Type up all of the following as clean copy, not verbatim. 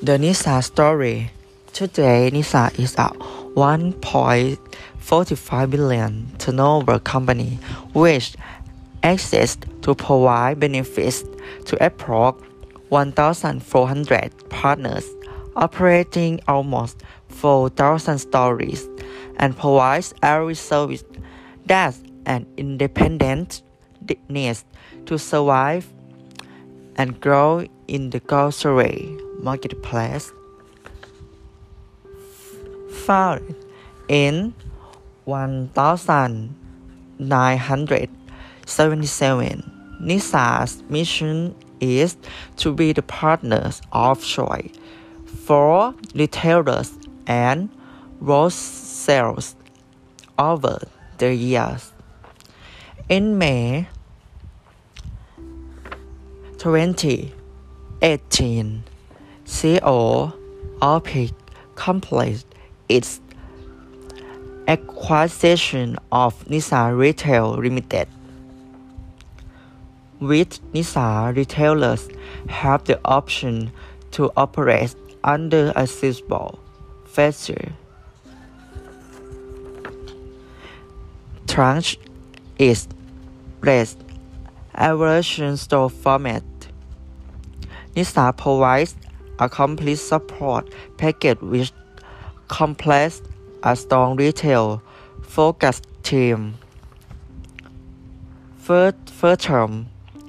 The NISA story. Today, NISA is a 1.45 billion turnover company which exists to provide benefits to approx 1,400 partners, operating almost 4,000 stores, and provides every service that an independent needs to survive and grow in the grocery marketplace. Founded in 1977, NISA's mission is to be the partners of choice for retailers and wholesalers over the years. In May 2018, CEO of Peak completed its acquisition of NISA Retail Limited. With NISA, retailers have the option to operate under a simple feature. Tranche is less aversion store format. NISA provides a complete support package which completes a strong retail focused team. First term,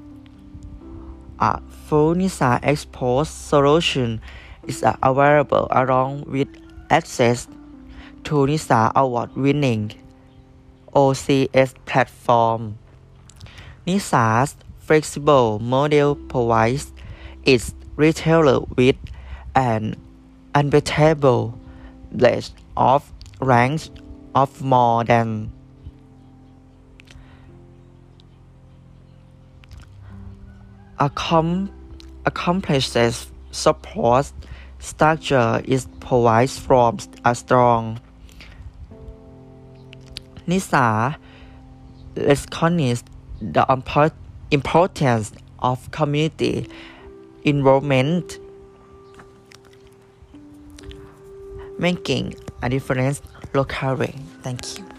a full NISA Expo solution is available along with access to NISA award-winning OCS platform. NISA's flexible model provides its retailer with an unbeatable breadth of range of more than accomplishes support structure is provides from a strong NISA recognizes the importance of community involvement, making a difference locally. Thank you.